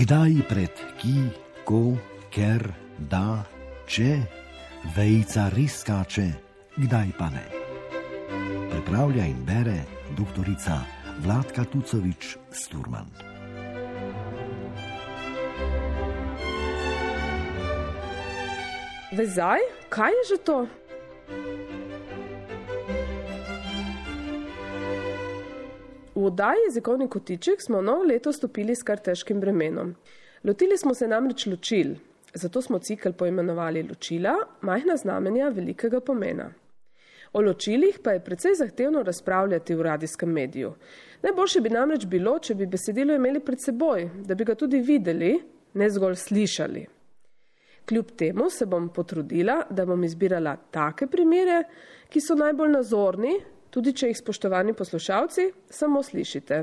Kdaj pred ki, ko, ker, da, če, vejica res skače, kdaj pa ne. Pripravlja in bere doktorica Vladka Tucovič-Sturman. Vezaj? Kaj je že to? V oddaji Jezikovni kotiček smo novo leto stopili s kar težkim bremenom. Lotili smo se namreč ločil, zato smo cikel poimenovali Ločila, majhna znamenja velikega pomena. O ločilih pa je precej zahtevno razpravljati v radijskem mediju. Najboljše bi namreč bilo, če bi besedilo imeli pred seboj, da bi ga tudi videli, ne zgolj slišali. Kljub temu se bom potrudila, da bom izbirala take primere, ki so najbolj nazorni, tudi če jih, spoštovani poslušalci, samo slišite.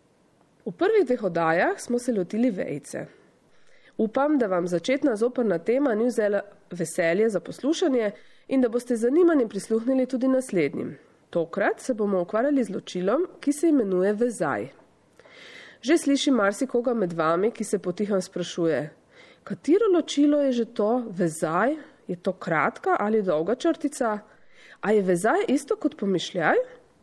V prvih dveh oddajah smo se lotili vejice. Upam, da vam začetna zoprna tema ni vzela veselje za poslušanje in da boste z zanimanjem prisluhnili tudi naslednjim. Tokrat se bomo ukvarjali z ločilom, ki se imenuje vezaj. Že slišim marsikoga med vami, ki se potihem sprašuje, katero ločilo je že to vezaj? Je to kratka ali dolga črtica? A je vezaj isto kot pomišljaj?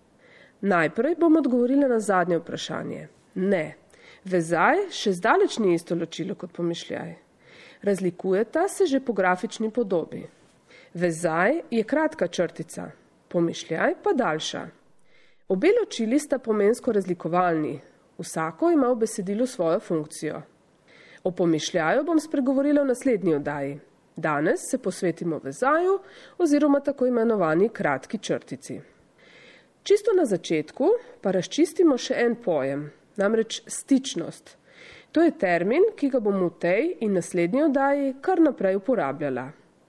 Najprej bom odgovorila na zadnje vprašanje. Ne, vezaj še zdaleč ni isto ločilo kot pomišljaj. Razlikujeta se že po grafični podobi. Vezaj je kratka črtica, pomišljaj pa daljša. Obe ločili sta pomensko razlikovalni, vsako ima v besedilu svojo funkcijo. O pomišljaju bom spregovorila v naslednji oddaji. Danes se posvetimo vezaju oziroma tako imenovani kratki črtici. Čisto na začetku pa razčistimo še en pojem, namreč stičnost. To je termin, ki ga bom v tej in naslednji oddaji kar naprej uporabljala.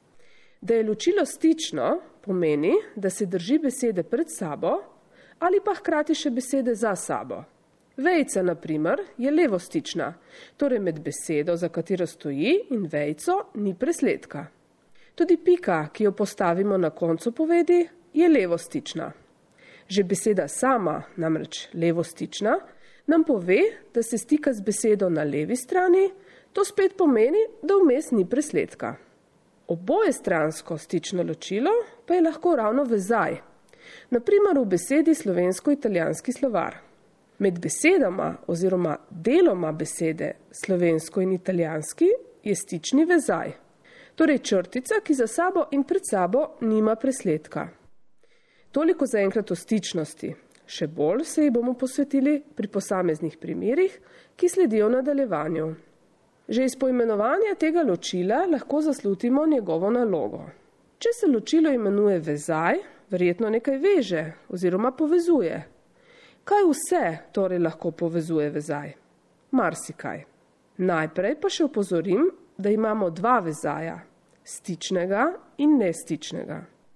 Da je ločilo stično, pomeni, da se drži besede pred sabo ali pa hkrati še besede za sabo. Vejica, na primer, je levostična, torej med besedo, za katero stoji, in vejico ni presledka. Tudi pika, ki jo postavimo na koncu povedi, je levostična. Že beseda sama, namreč levostična, nam pove, da se stika z besedo na levi strani, to spet pomeni, da vmes ni presledka. Oboje stransko stično ločilo pa je lahko ravno vezaj. Na primer v besedi slovensko-italijanski slovar. Med besedama oziroma deloma besede slovensko in italijanski je stični vezaj, torej črtica, ki za sabo in pred sabo nima presledka. Toliko zaenkrat o stičnosti, še bolj se ji bomo posvetili pri posameznih primerih, ki sledijo v nadaljevanju. Že iz poimenovanja tega ločila lahko zaslutimo njegovo nalogo. Če se ločilo imenuje vezaj, verjetno nekaj veže oziroma povezuje. Kaj vse torej lahko povezuje vezaj? Marsikaj. Najprej pa še opozorim, da imamo dva vezaja, stičnega in nestičnega.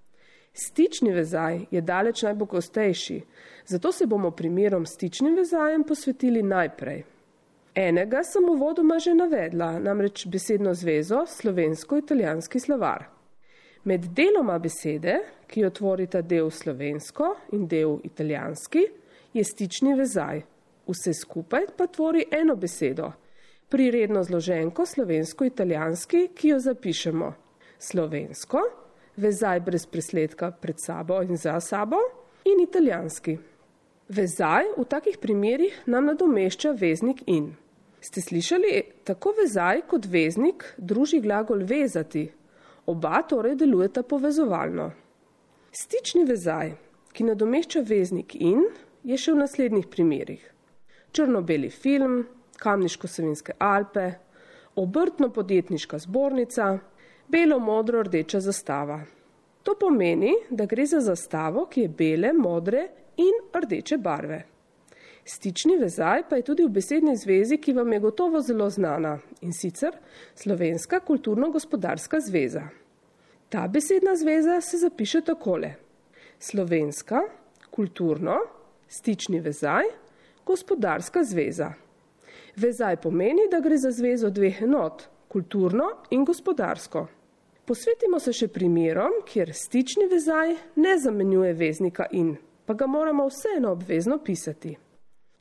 Stični vezaj je daleč najpogostejši, zato se bomo primerom stičnim vezajem posvetili najprej. Enega sem uvodoma že navedla, namreč besedno zvezo slovensko-italijanski slovar. Med deloma besede, ki jo tvorita del slovensko in del italijanski, je stični vezaj. Vse skupaj pa tvori eno besedo, priredno zloženko slovensko-italijanski, ki jo zapišemo. Slovensko, vezaj brez presledka pred sabo in za sabo, in italijanski. Vezaj v takih primerih nam nadomešča veznik in. Ste slišali, tako vezaj kot veznik druži glagol vezati. Oba torej delujeta povezovalno. Stični vezaj, ki nadomešča veznik in, je še v naslednjih primerih. Črno-beli film, Kamniško-Savinjske Alpe, Obrtno-podjetniška zbornica, belo-modro-rdeča zastava. To pomeni, da gre za zastavo, ki je bele, modre in rdeče barve. Stični vezaj pa je tudi v besedni zvezi, ki vam je gotovo zelo znana, in sicer Slovenska kulturno-gospodarska zveza. Ta besedna zveza se zapiše takole. Slovenska, kulturno, stični vezaj, gospodarska zveza. Vezaj pomeni, da gre za zvezo dveh enot, kulturno in gospodarsko. Posvetimo se še primerom, kjer stični vezaj ne zamenjuje veznika in, pa ga moramo vseeno obvezno pisati.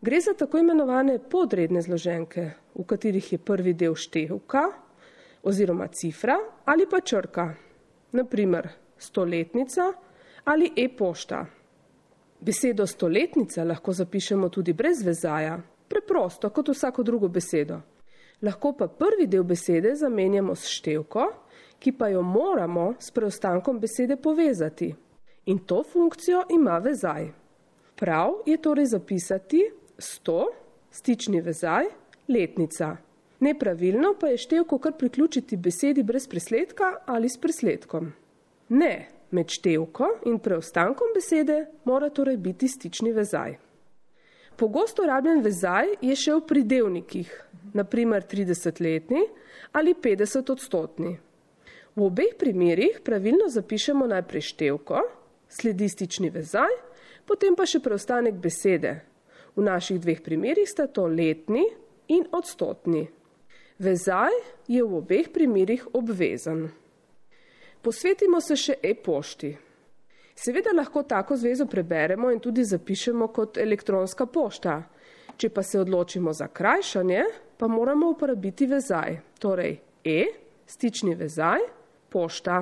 Gre za tako imenovane podredne zloženke, v katerih je prvi del števka oziroma cifra ali pa črka, naprimer stoletnica ali e-pošta. Besedo stoletnica lahko zapišemo tudi brez vezaja, preprosto kot vsako drugo besedo. Lahko pa prvi del besede zamenjamo s števko, ki pa jo moramo s preostankom besede povezati. In to funkcijo ima vezaj. Prav je torej zapisati 100, stični vezaj, letnica. Nepravilno pa je števko kar priključiti besedi brez presledka ali s presledkom. Ne, med števko in preostankom besede mora torej biti stični vezaj. Pogosto rabljen vezaj je še v pridevnikih, naprimer 30-letni ali 50-odstotni. V obeh primerih pravilno zapišemo najprej števko, sledi stični vezaj, potem pa še preostanek besede. V naših dveh primerih sta to letni in odstotni. Vezaj je v obeh primerih obvezen. Posvetimo se še e-pošti. Seveda lahko tako zvezo preberemo in tudi zapišemo kot elektronska pošta. Če pa se odločimo za krajšanje, pa moramo uporabiti vezaj, torej stični vezaj, pošta.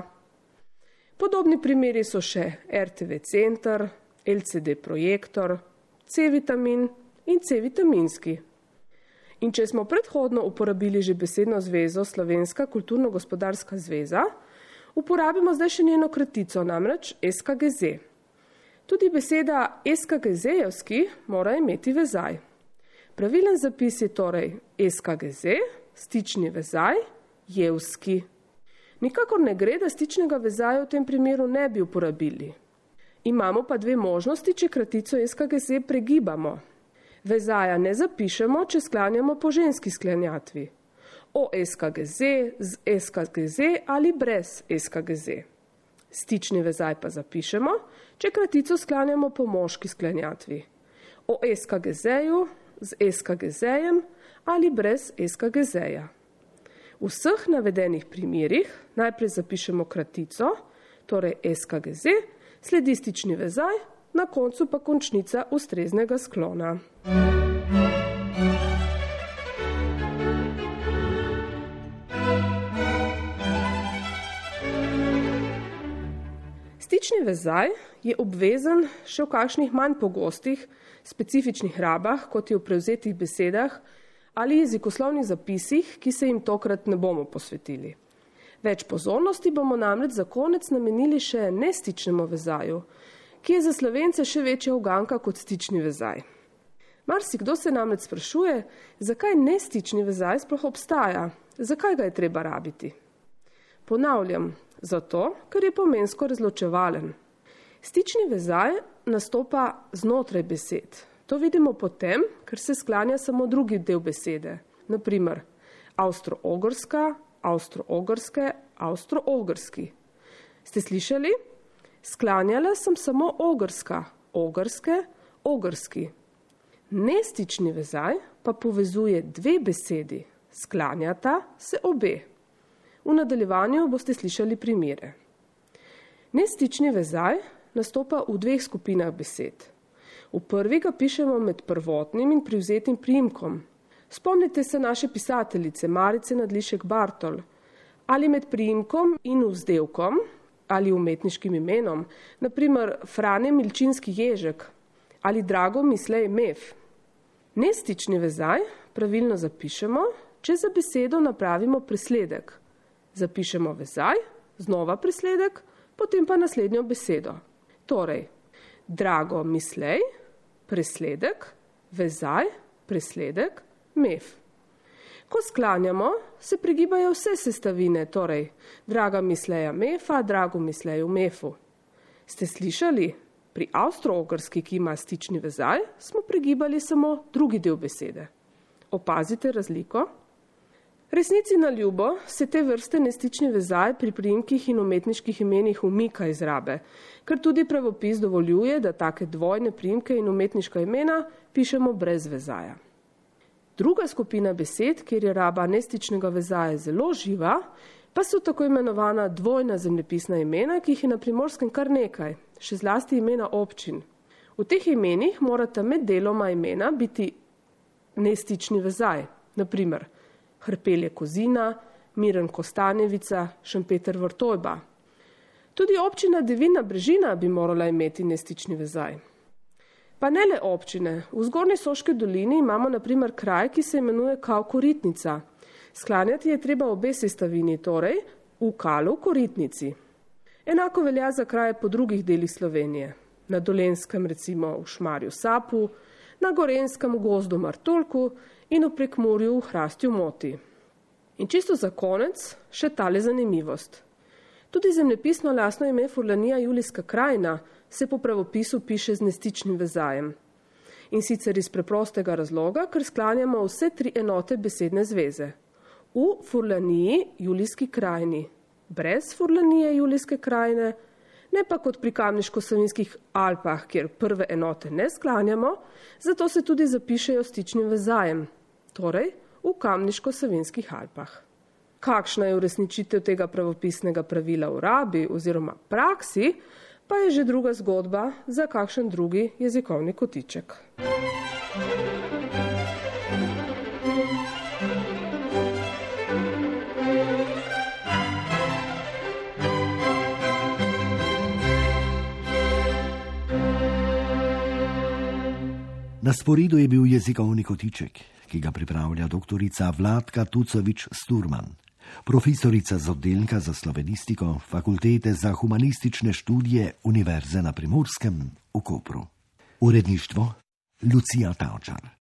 Podobni primeri so še RTV center, LCD projektor, C-vitamin in C-vitaminski. In če smo predhodno uporabili že besedno zvezo Slovenska kulturno-gospodarska zveza, uporabimo zdaj še njeno kratico, namreč SKGZ. Tudi beseda SKGZ-jevski mora imeti vezaj. Pravilen zapis je torej SKGZ, stični vezaj, jevski. Nikakor ne gre, da stičnega vezaja v tem primeru ne bi uporabili. Imamo pa dve možnosti, če kratico SKGZ pregibamo. Vezaja ne zapišemo, če sklanjamo po ženski sklanjatvi. O SKGZ, z SKGZ ali brez SKGZ. Stični vezaj pa zapišemo, če kratico sklanjamo po moški sklanjatvi. O SKGZ-ju, z SKGZ-jem ali brez SKGZ-ja. V vseh navedenih primerih najprej zapišemo kratico, torej SKGZ, sledi stični vezaj, na koncu pa končnica ustreznega sklona. Stični vezaj je obvezen še v kakšnih manj pogostih, specifičnih rabah, kot je v prevzetih besedah ali jezikoslovnih zapisih, ki se jim tokrat ne bomo posvetili. Več pozornosti bomo namreč za konec namenili še nestičnemu vezaju, ki je za Slovence še večja uganka kot stični vezaj. Marsikdo se namreč sprašuje, zakaj nestični vezaj sploh obstaja, zakaj ga je treba rabiti. Ponavljam, zato, ker je pomensko razločevalen. Stični vezaj nastopa znotraj besed. To vidimo potem, ker se sklanja samo drugi del besede. Naprimer, avstro-ogrska, avstro-ogrske, avstro-ogrski. Ste slišali? Sklanjala sem samo ogrska, ogrske, ogrski. Nestični vezaj pa povezuje dve besedi. Sklanjata se obe. V nadaljevanju boste slišali primere. Nestični vezaj nastopa v dveh skupinah besed. V prvi ga pišemo med prvotnim in privzetim priimkom. Spomnite se naše pisateljice Marice Nadlišek Bartol. Ali med priimkom in vzdevkom ali umetniškim imenom, naprimer Frane Milčinski Ježek ali Drago Mislej Mev. Nestični vezaj pravilno zapišemo, če za besedo napravimo presledek. Zapišemo vezaj, znova presledek, potem pa naslednjo besedo. Torej, Drago Mislej, presledek, vezaj, presledek, mev. Ko sklanjamo, se pregibajo vse sestavine, torej Draga Misleja Mefa, Drago Misleju Mefu. Ste slišali? Pri avstro-ogrski, ki ima stični vezaj, smo pregibali samo drugi del besede. Opazite razliko? Resnici na ljubo se te vrste nestični vezaj pri priimkih in umetniških imenih umika iz rabe, ker tudi pravopis dovoljuje, da take dvojne priimke in umetniška imena pišemo brez vezaja. Druga skupina besed, kjer je raba nestičnega vezaja zelo živa, pa so tako imenovana dvojna zemljepisna imena, ki jih je na Primorskem kar nekaj, še zlasti imena občin. V teh imenih morata med deloma imena biti nestični vezaj, naprimer Hrpelje Kozina, Miren Kostanjevica, Šempeter Vrtojba. Tudi občina Divina Brežina bi morala imeti nestični vezaj. Pa ne le občine, v Zgornji Soški dolini imamo naprimer kraj, ki se imenuje Kav Koritnica. Sklanjati je treba obe sestavini, torej v Kalu Koritnici. Enako velja za kraje po drugih delih Slovenije. Na Dolenjskem recimo v Šmarju Sapu, na Gorenskem v Gozdu Martuljku in v Prekmurju v Hrastju Moti. In čisto za konec še tale zanimivost. Tudi zemljepisno lastno ime Furlanija Julijska krajina se po pravopisu piše z nestičnim vezajem. In sicer iz preprostega razloga, ker sklanjamo vse 3 enote besedne zveze. V Furlaniji Julijski krajini, brez Furlanije Julijske krajine, ne pa kot pri Kamniško-Savinjskih Alpah, kjer prve enote ne sklanjamo, zato se tudi zapišejo stičnim vezajem, torej v Kamniško-Savinjskih Alpah. Kakšna je uresničitev tega pravopisnega pravila v rabi oziroma praksi, pa je že druga zgodba za kakšen drugi jezikovni kotiček. Na sporedu je bil jezikovni kotiček, ki ga pripravlja doktorica Vladka Tucovič-Sturman, profesorica z oddelka za slovenistiko Fakultete za humanistične študije Univerze na Primorskem v Kopru. Uredništvo Lucija Tavčar.